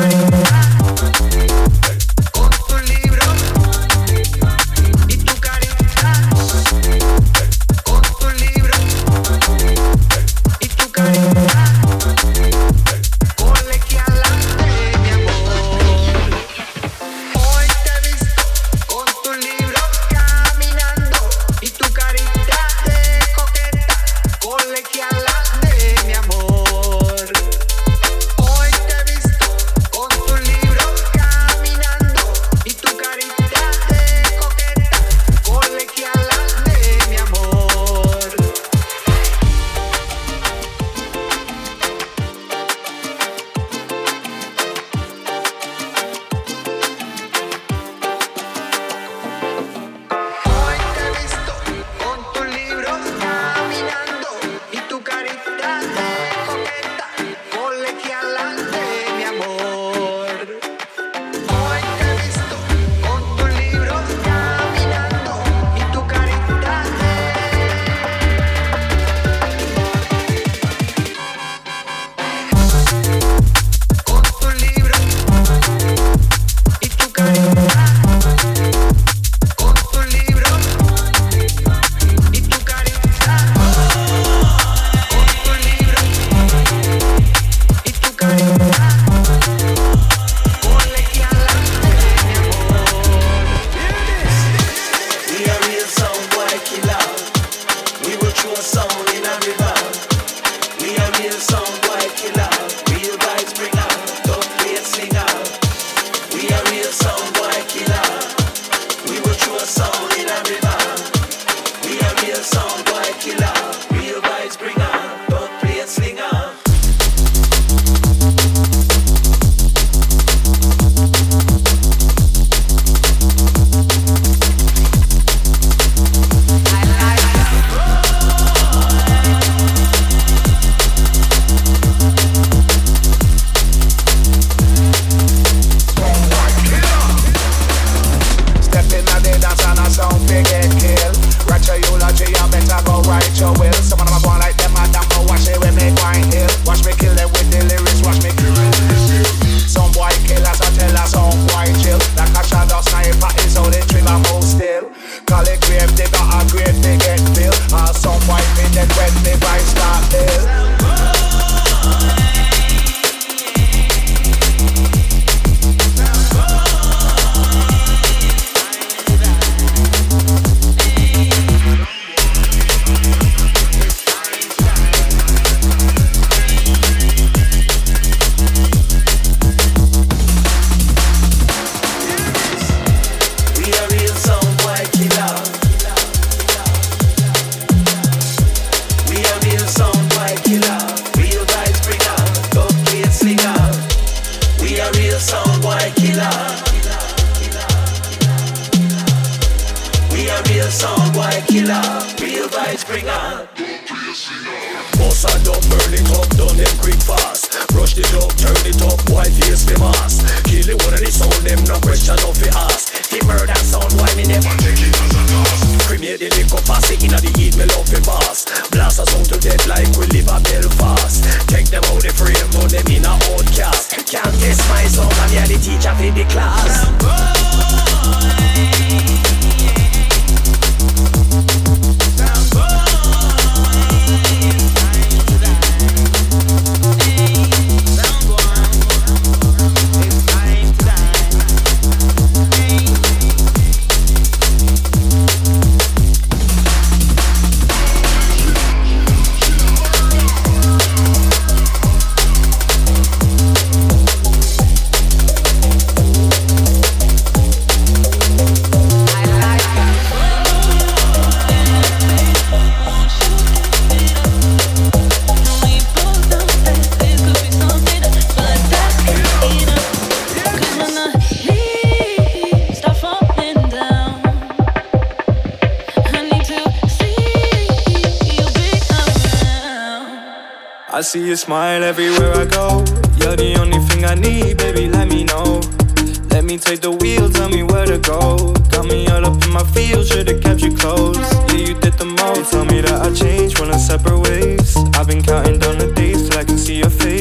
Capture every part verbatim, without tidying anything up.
I see you smile everywhere I go. You're the only thing I need, baby, let me know. Let me take the wheel, tell me where to go. Got me all up in my feels, should've kept you close. Yeah, you did the most, tell me that I changed, running separate ways. I've been counting down the days till I can see your face. I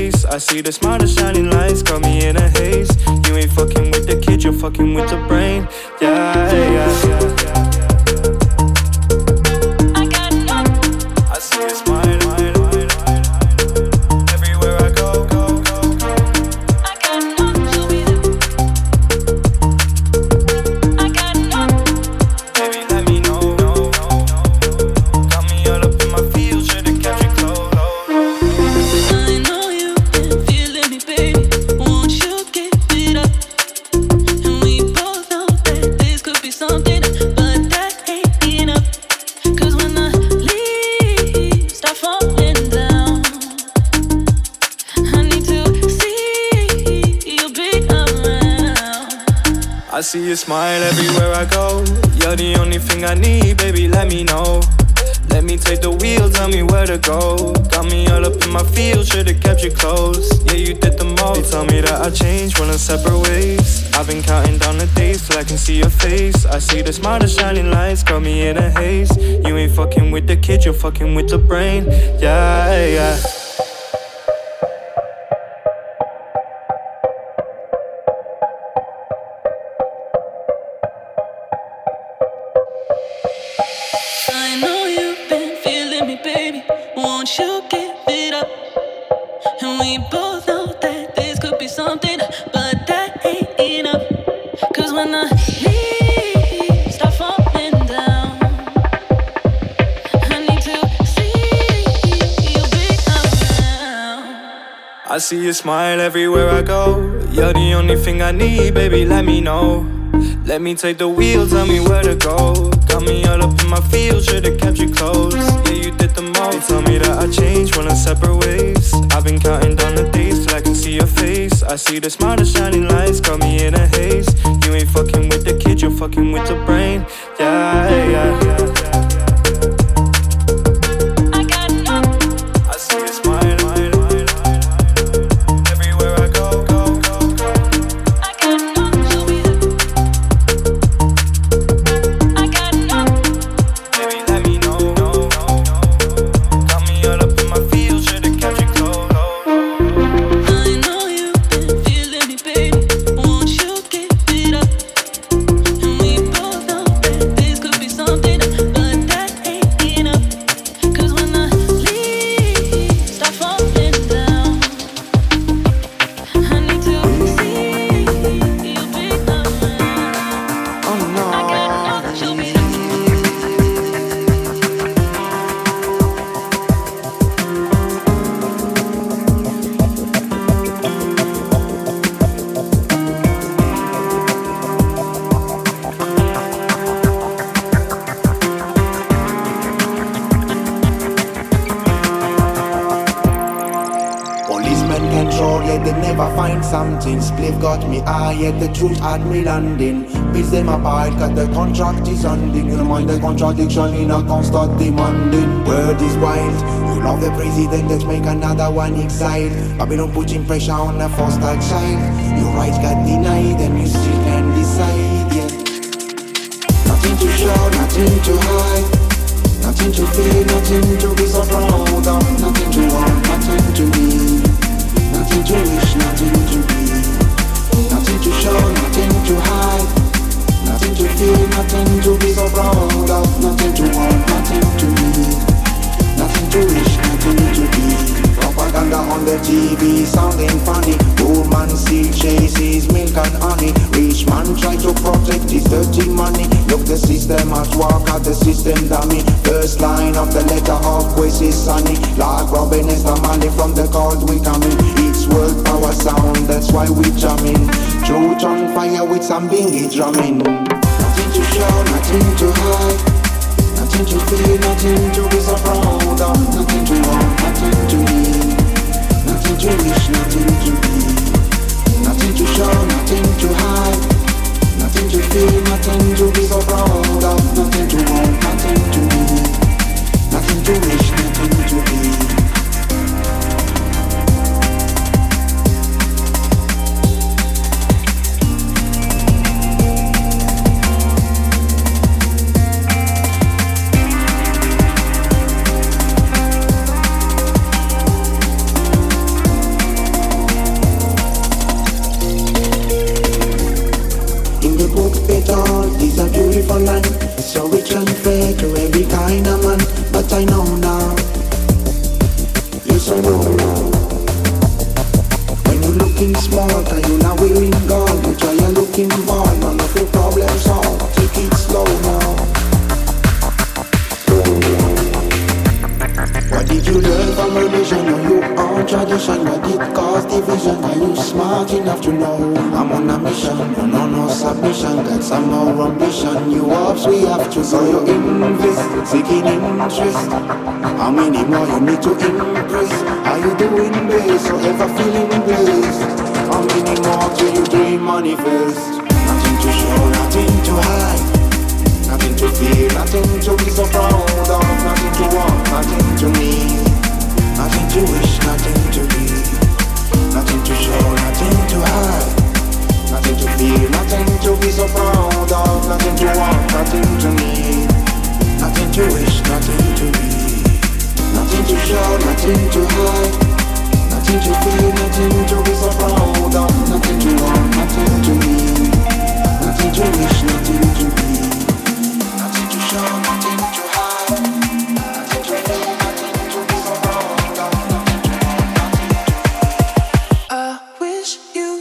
see the smile, the shining lights got me in a haze. You ain't fucking with the kid, you're fucking with the brain. Yeah, yeah, yeah, yeah, yeah. I see your smile everywhere I go. You're the only thing I need, baby, let me know. Let me take the wheel, tell me where to go. Got me all up in my feels, should've kept you close. Yeah, you did the most. They tell me that I changed, we're on separate ways. I've been counting down the days till I can see your face. I see the smile, the shining lights, got me in a haze. You ain't fucking with the kid, you're fucking with the brain. Yeah, yeah. Won't you give it up? And we both know that this could be something, but that ain't enough. Cause when the leaves start falling down, I need to see you be around. I see your smile everywhere I go. You're the only thing I need, baby, let me know. Let me take the wheel, tell me where to go. Got me all up in my feels, should've kept you close. Yeah, you did the most. They tell me that I changed, we're on separate ways. I've been counting down the days till I can see your face. I see the smile, the shining lights, got me in a haze. You ain't fucking with the kid, you're fucking with the brain. Yeah, yeah, yeah, yeah. Spliff got me high, yet the truth had me landing. Bills them apart, cause the contract is ending. You don't mind the contradiction in a constant demanding. Word is wild, you love the president, let's make another one exile. Babylon putting pressure on a foster child. Your rights got denied, and you still can decide, yeah. Nothing to show, nothing to hide. Nothing to feel, nothing to be so proud of. Nothing to want, nothing to need. Nothing to wish, nothing to be. Nothing to show, nothing to hide. Nothing to feel, nothing to be so proud of. Nothing to want, nothing to need. Nothing to wish, nothing to be. Propaganda on the T V sounding funny. Poor man still chases milk and honey. Rich man try to protect his dirty money. Look the system at work, at the system dummy. First line of the letter of Quest is sunny. Like Robin is the money from the cold we coming. It's world power sound, that's why we jamming. Truth on fire with some bingy drumming. Nothing to show, nothing to hide. Nothing to feel, nothing to be so proud of. Nothing to want, nothing to need. Nothing to wish, nothing to be. Nothing to show, nothing to hide. Nothing to feel, nothing to be so proud of. Nothing to want, nothing to need. Nothing to wish, nothing to be. you not willing, girl. You try your looking boy, none of your problems solved. Take it slow now. What did you learn from religion or your own tradition? What did cause division? Are you smart enough to know I'm on a mission? No, no, no submission. Got some more ambition. You ups, we have to. So you invest, seeking interest. How many more you need to impress? Are you doing best or ever feeling blessed? How many more do you dream manifest? Nothing to show, nothing to hide. Nothing to fear, nothing to be so proud of. Nothing to want, nothing to need. Nothing to wish, nothing to be. Nothing to show, nothing to hide. Nothing to fear, nothing to be so proud of. Nothing to want, nothing to need. Nothing to wish, nothing to be. Nothing to show, nothing to hide. Nothing to feel, nothing to be so proud of. Nothing to want, nothing to need. Nothing to wish, nothing to be. Nothing to show, nothing to hide. Nothing to feel, nothing to be so proud of. Nothing to want, nothing to. I wish you.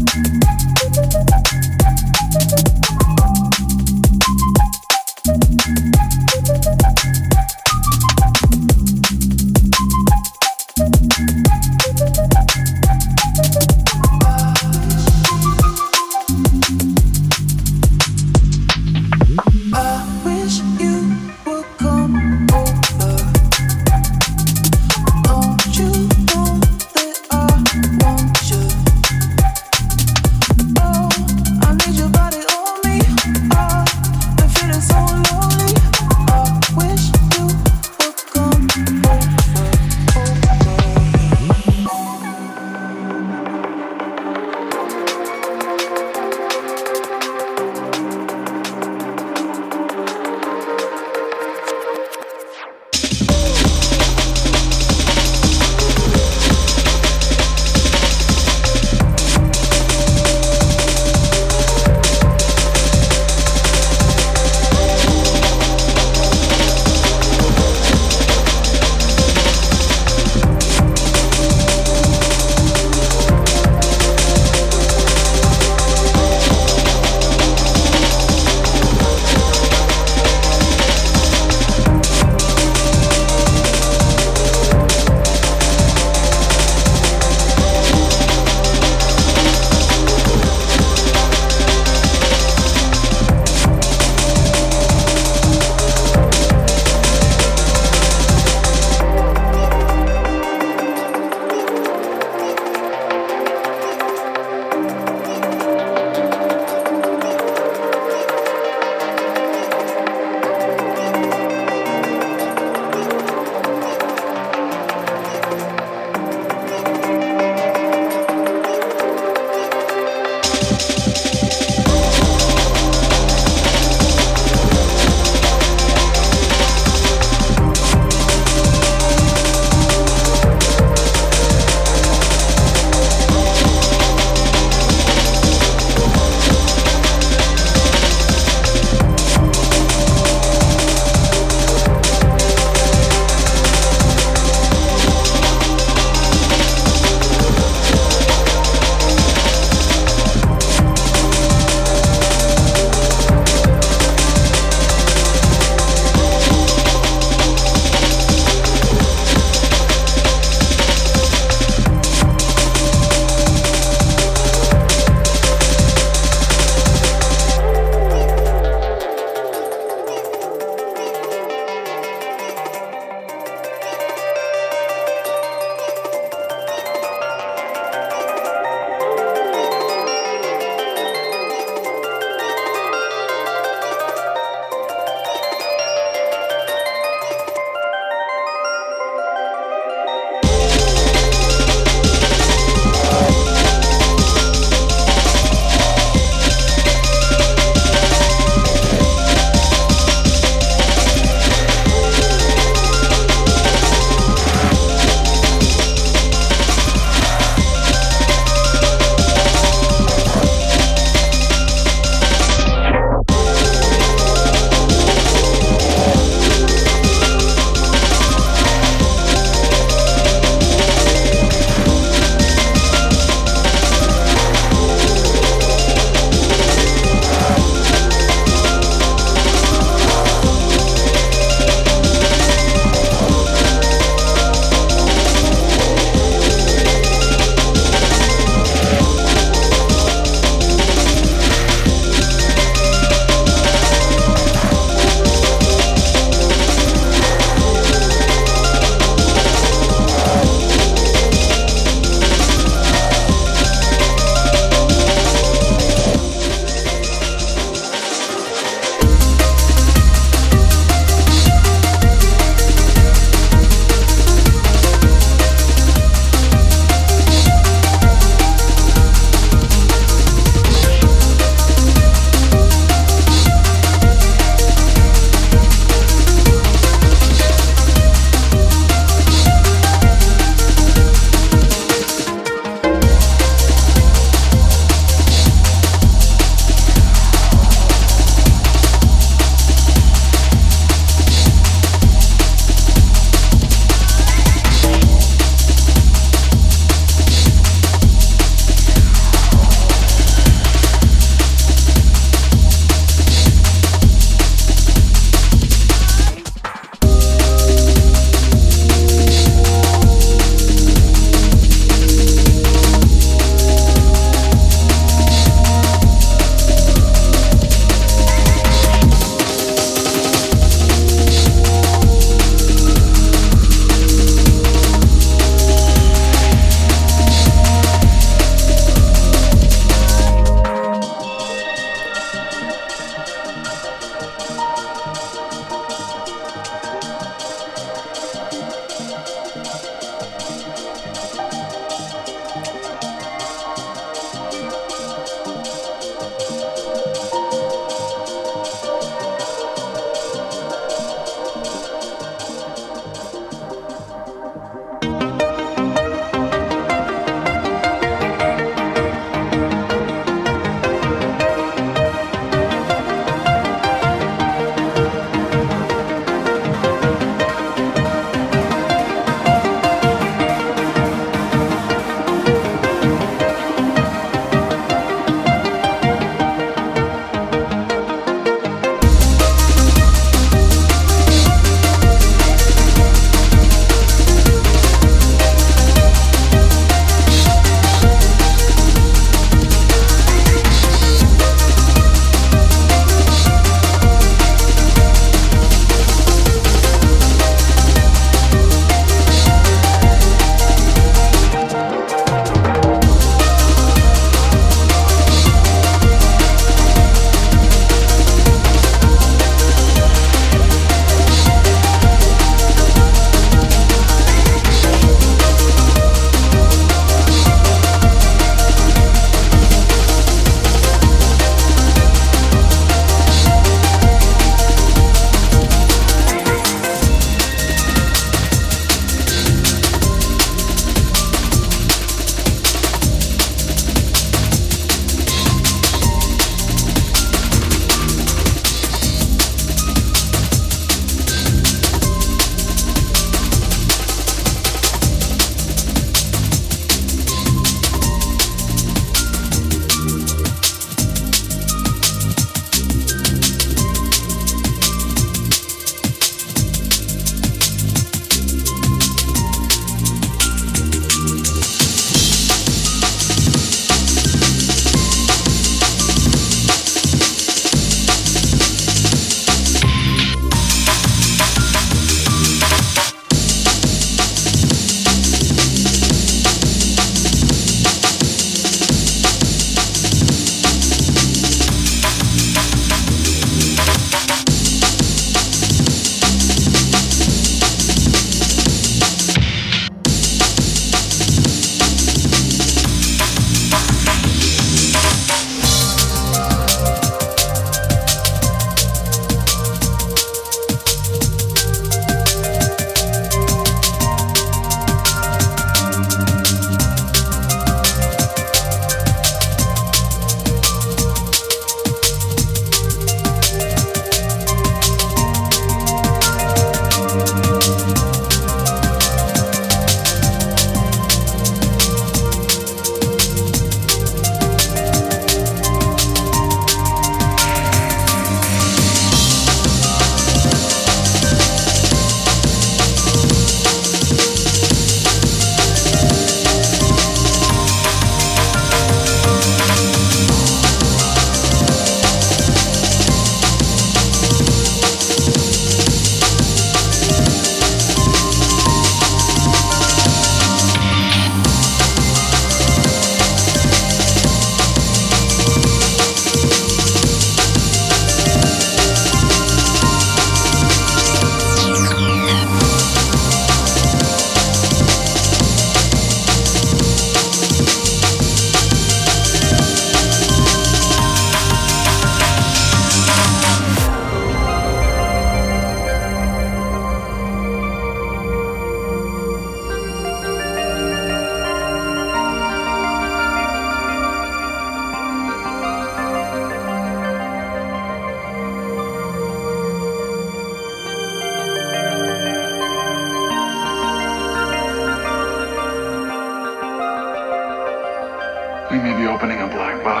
the opening of Black Buck.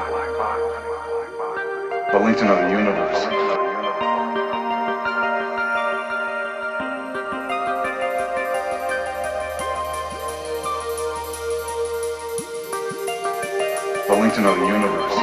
The link to another universe. The link to another universe.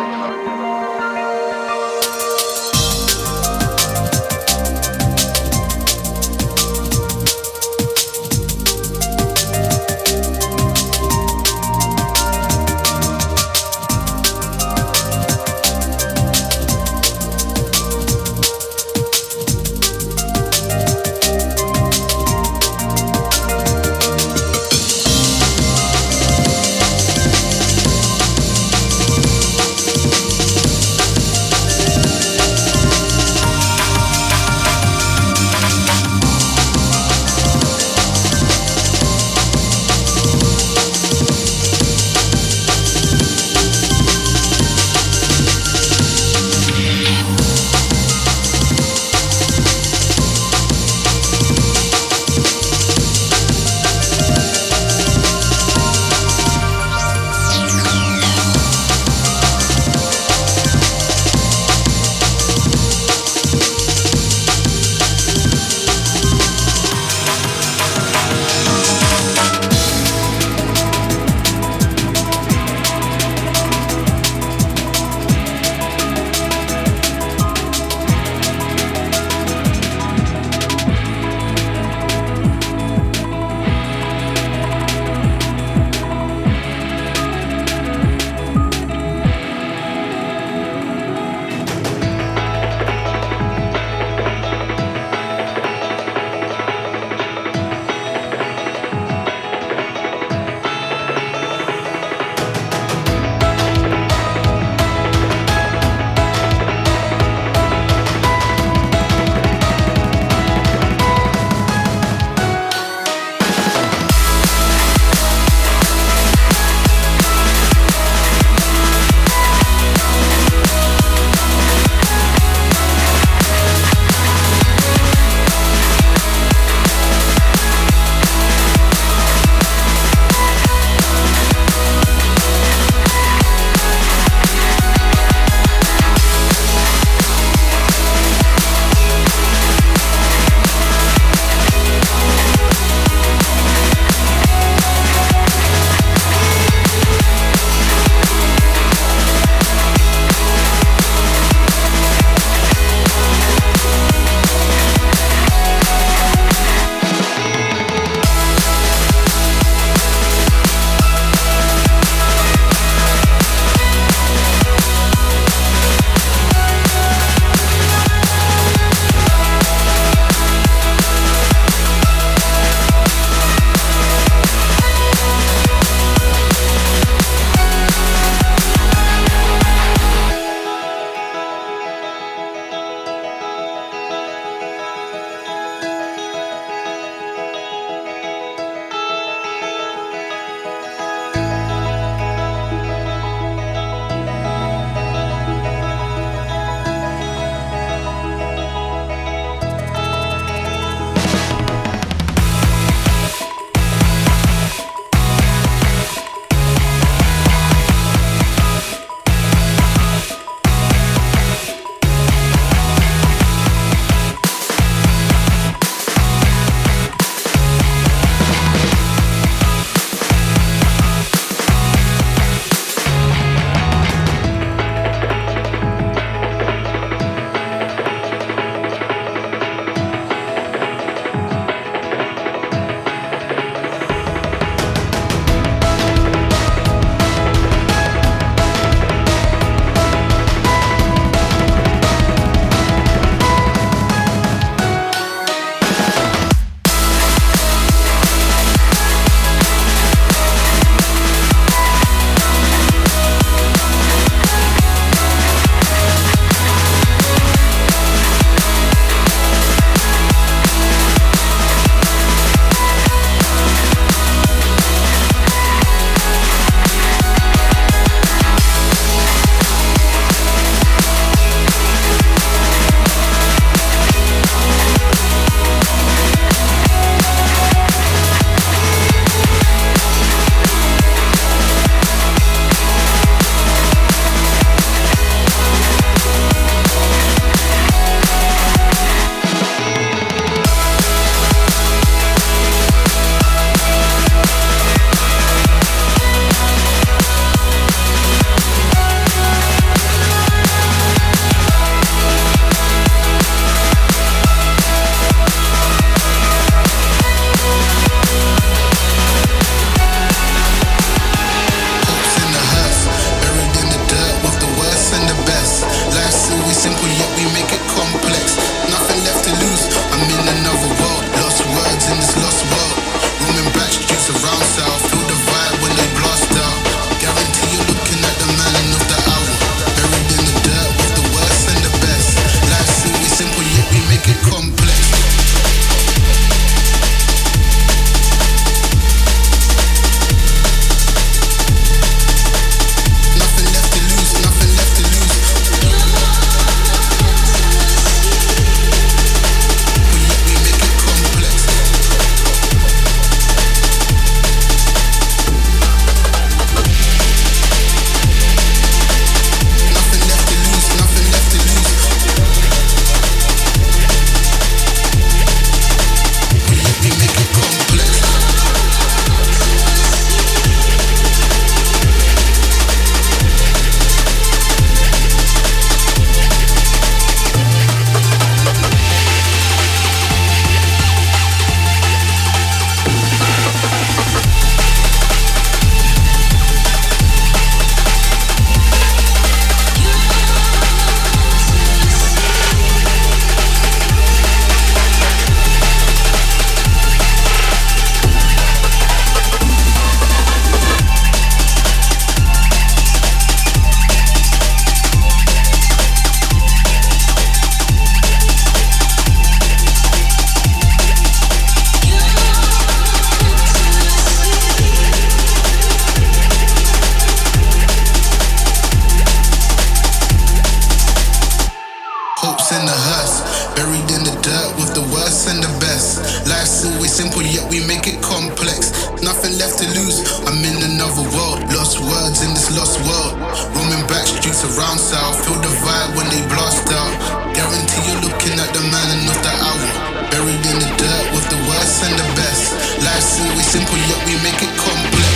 lost world. Roaming back streets around south. Feel the vibe when they blast out. Guarantee you're looking at the man and not the hour. Buried in the dirt with the worst and the best. Life's always simple yet we make it complex.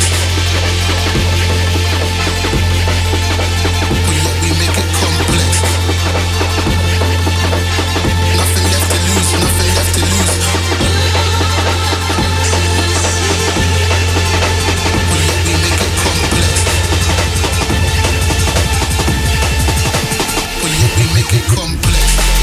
But yet we make it complex. Nothing left to lose, nothing left to lose. But yet we make it complex. But yet we make it complex.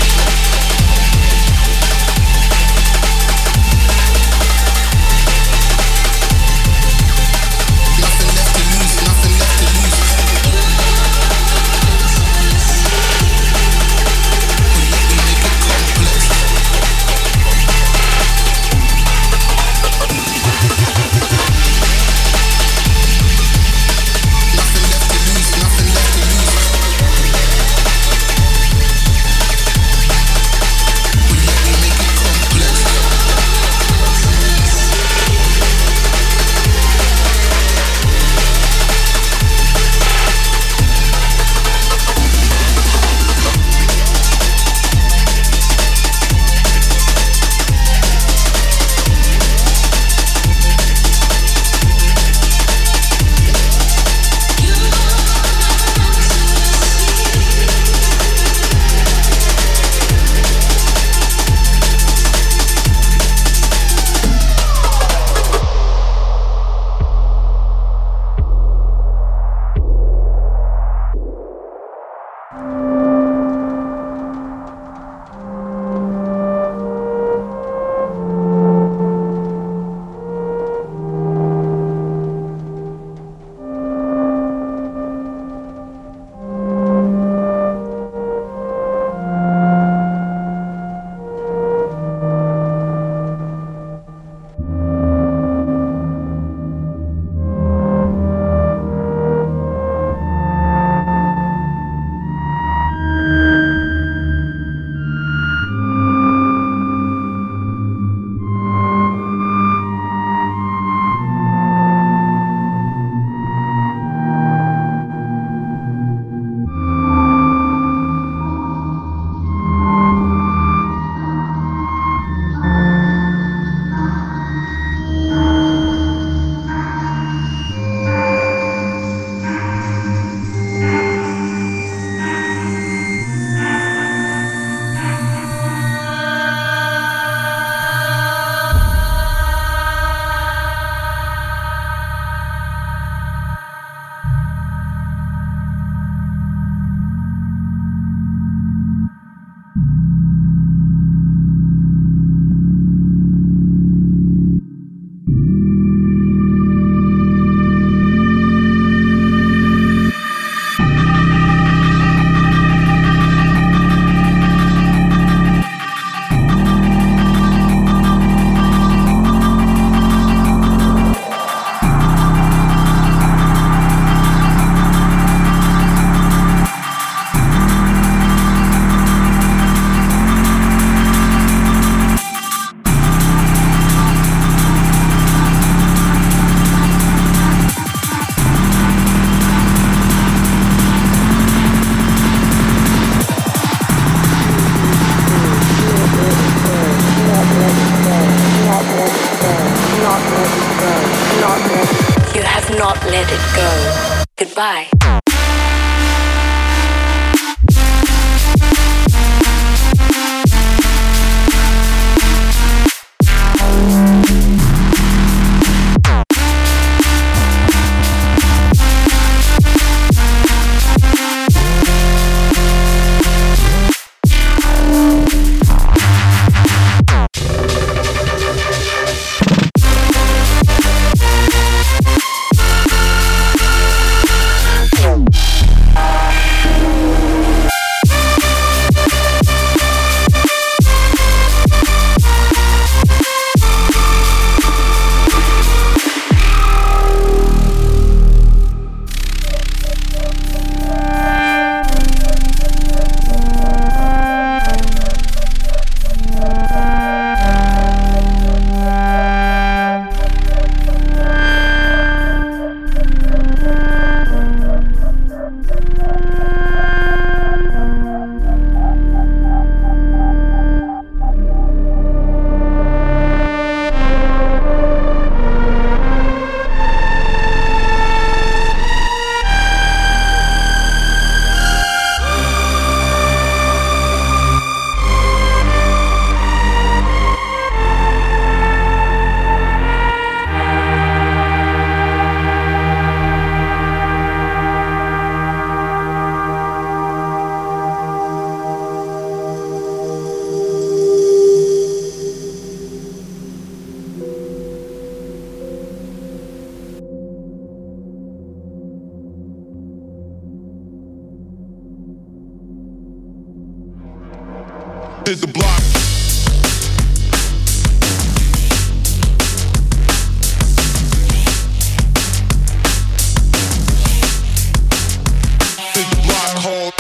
not let it go. Goodbye. Hit the block. Hit the block hard.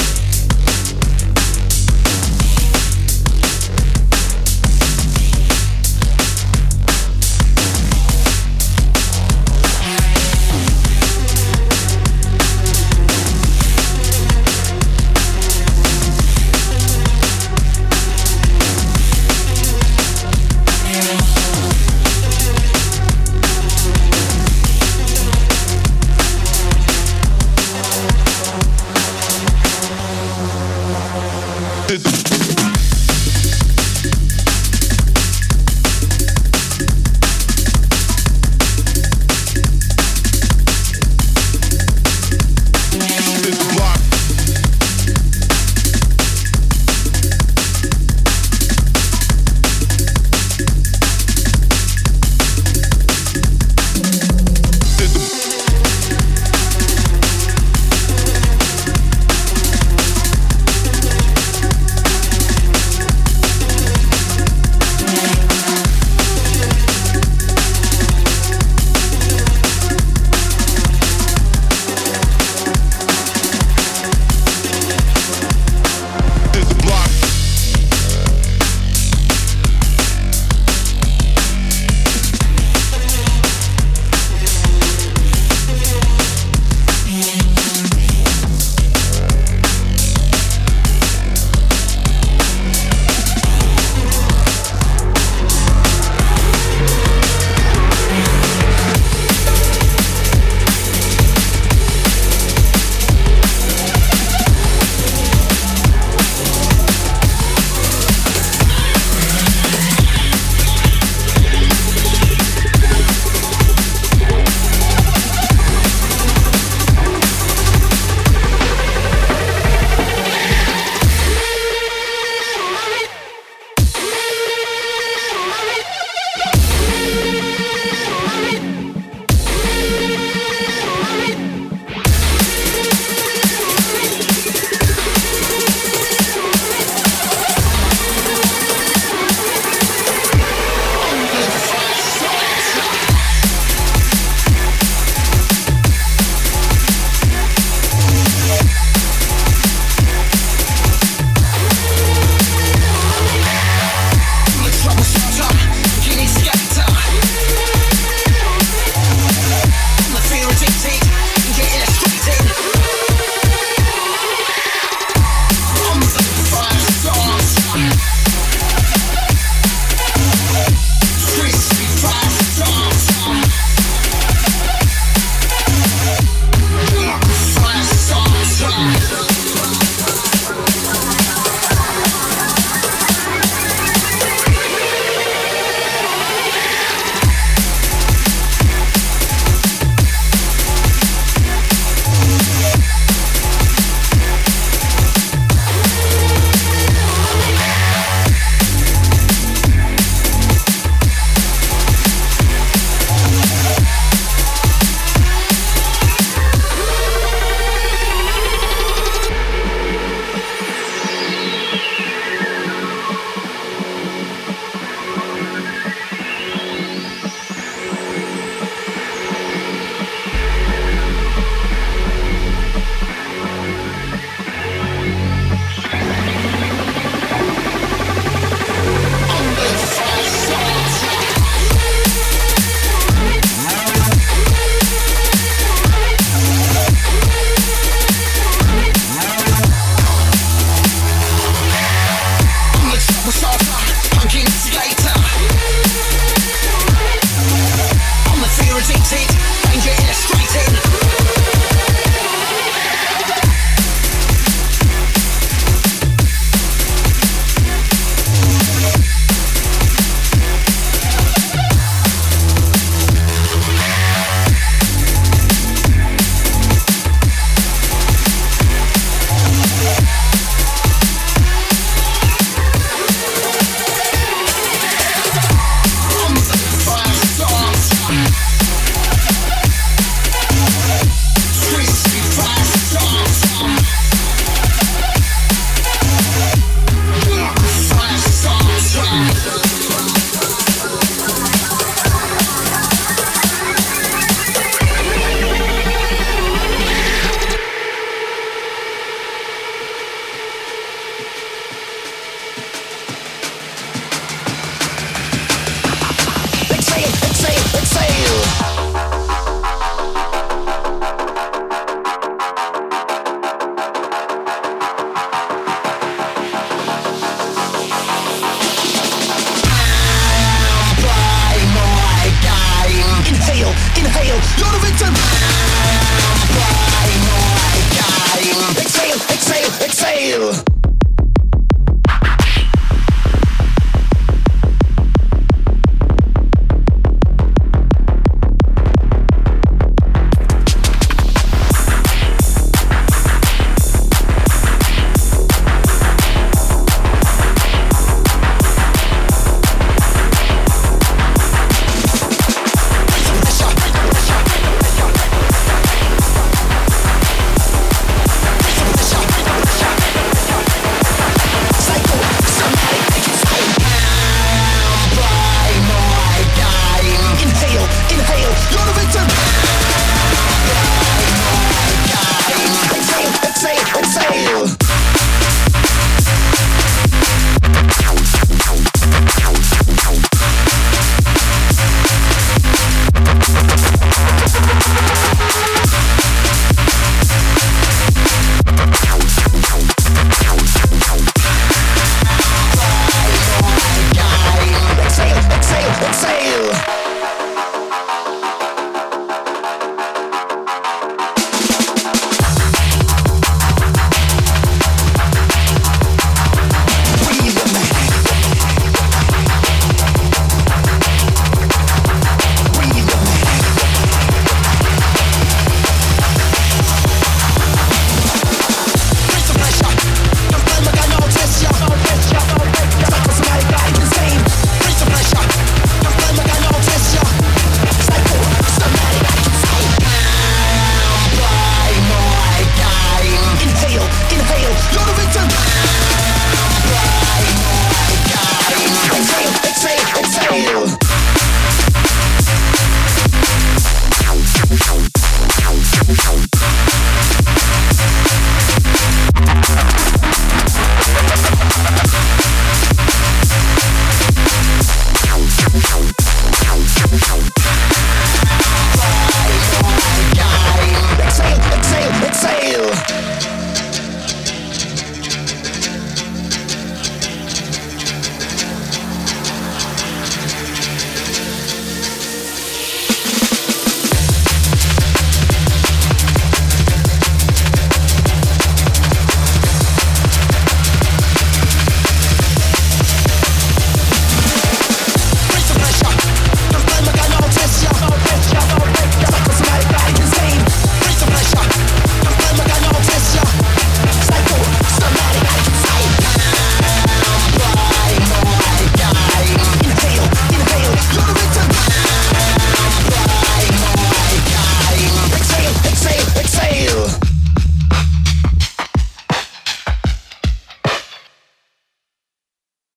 Exhale, exhale.